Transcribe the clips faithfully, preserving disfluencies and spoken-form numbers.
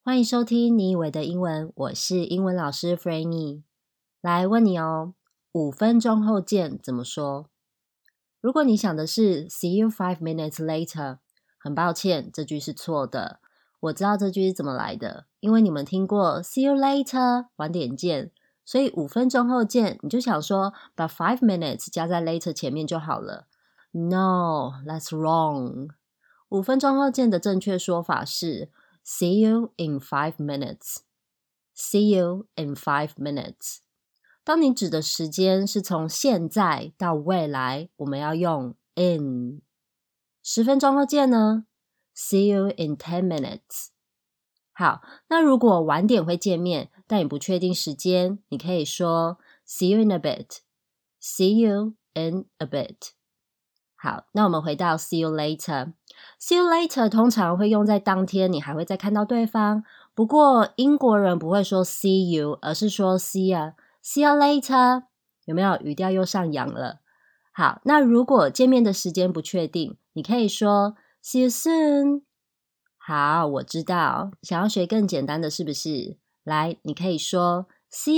歡迎收聽你以為的英文，我是英文老師 Frannie。來問你哦，五分鐘後見怎麼說？如果你想的是 See you five minutes later， 很抱歉，這句是錯的。我知道這句是怎麼來的，因為你們聽過 See you later， 晚點見，所以五分鐘後見，你就想說把 five minutes 加在 later 前面就好了。No, that's wrong。五分鐘後見的正確說法是See you in five minutes. See you in five minutes. 當你指的時間是從現在到未來，我們要用 in。十分鐘後見呢？ See you in ten minutes. 好，那如果晚點會見面，但你不確定時間，你可以說 See you in a bit. See you in a bit. 好，那我們回到 see you later。See you later 通常會用在當天你還會再看到對方，不過英國人不會說 see you， 而是說 see ya。See you later， 有沒有語調又上揚了？好，那如果見面的時間不確定，你可以說 see you soon。好，我知道，想要學更簡單的是不是？來，你可以說 see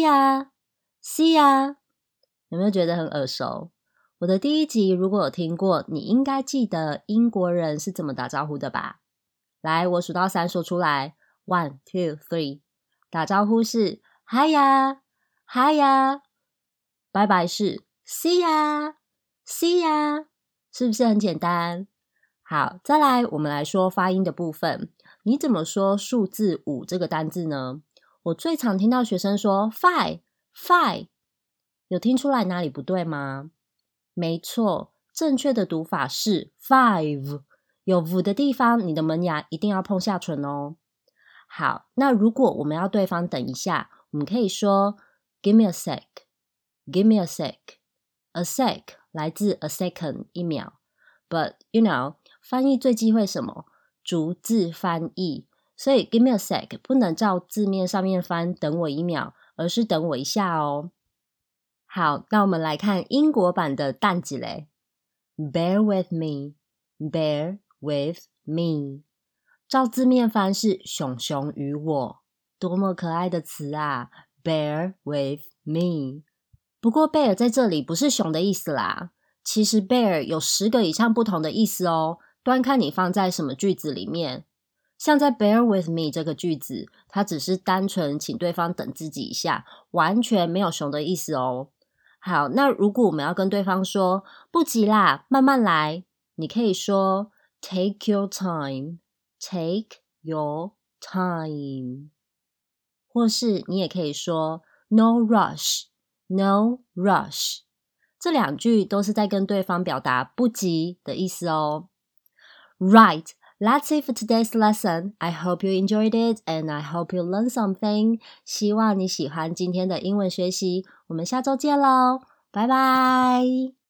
ya，see ya， 有沒有覺得很耳熟？我的第一集如果有聽過，你應該記得英國人是怎麼打招呼的吧？來，我數到三說出來 One, two, three。 打招呼是 Hiya, Hiya。 拜拜是 See ya, See ya。 是不是很簡單？好，再來我們來說發音的部分。你怎麼說數字五這個單字呢？我最常聽到學生說 Five, Five。 有聽出來哪裡不對嗎？沒錯，正確的讀法是 five， 有 v 的地方，你的門牙一定要碰下唇哦。好，那如果我們要對方等一下，我們可以說 Give me a sec, Give me a sec。 A sec 來自 a second 一秒， But you know 翻譯最忌諱什麼？逐字翻譯，所以 Give me a sec 不能照字面上面翻等我一秒，而是等我一下哦。好，那我們來看英國版的蛋幾嘞。Bear with me, bear with me。 照字面翻是熊熊與我，多麼可愛的詞啊 Bear with me。 不過 bear 在這裡不是熊的意思啦，其實 bear 有十個以上不同的意思哦，端看你放在什麼句子裡面。像在 bear with me 這個句子，它只是單純請對方等自己一下，完全沒有熊的意思哦。好，那如果我們要跟對方說不急啦，慢慢來，你可以說 Take your time, Take your time。 或是你也可以說 No rush, No rush。 這兩句都是在跟對方表達不急的意思哦。 Right, that's it for today's lesson. I hope you enjoyed it and I hope you learned something. 希望你喜歡今天的英文學習，我們下周見咯，拜拜。